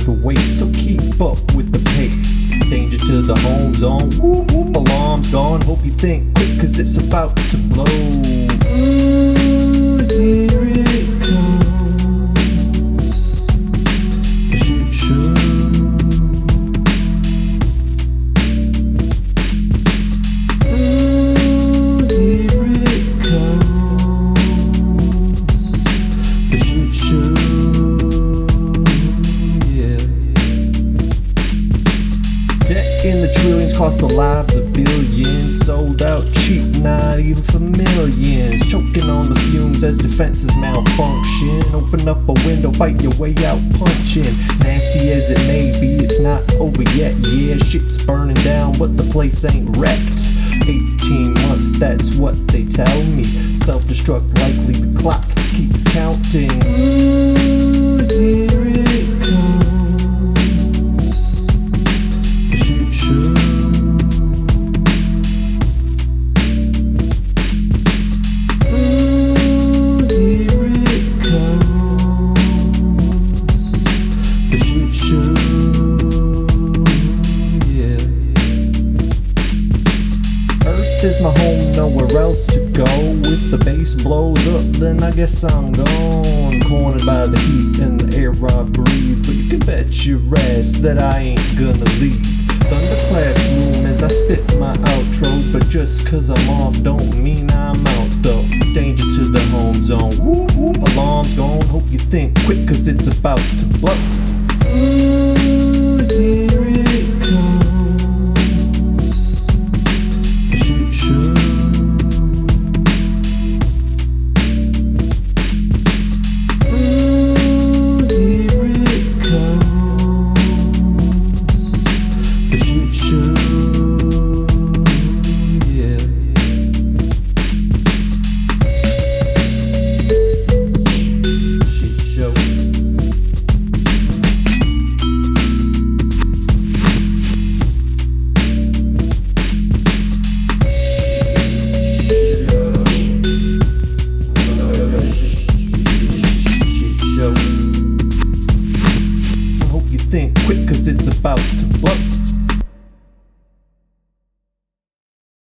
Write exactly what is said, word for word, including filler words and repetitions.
to waste, so keep up with the pace. Danger to the home zone, whoop whoop, alarm's gone. Hope you think quick, cause it's about to blow. Ooh, here it comes, the shit show. Ooh, here it comes, the shit show. In the trillions, cost the lives of billions. Sold out cheap, not even for millions. Choking on the fumes as defenses malfunction. Open up a window, bite your way out punching. Nasty as it may be, it's not over yet. Yeah, shit's burning down, but the place ain't wrecked. eighteen months, that's what they tell me. Self-destruct likely, the clock keeps counting. Ooh, here it comes, the shit show. Ooh, here it comes, the shit show. Yeah. Earth is my home, nowhere else to go. If the bass blows up, then I guess I'm gone. Cornered by the heat and the air I breathe, but you can bet your ass that I ain't gonna leave. Thunderclaps loom as I spit my outro, but just cause I'm off don't mean I'm out though. Danger to the home zone, whoop whoop, alarm's gone. Hope you think quick, cause it's about to blow.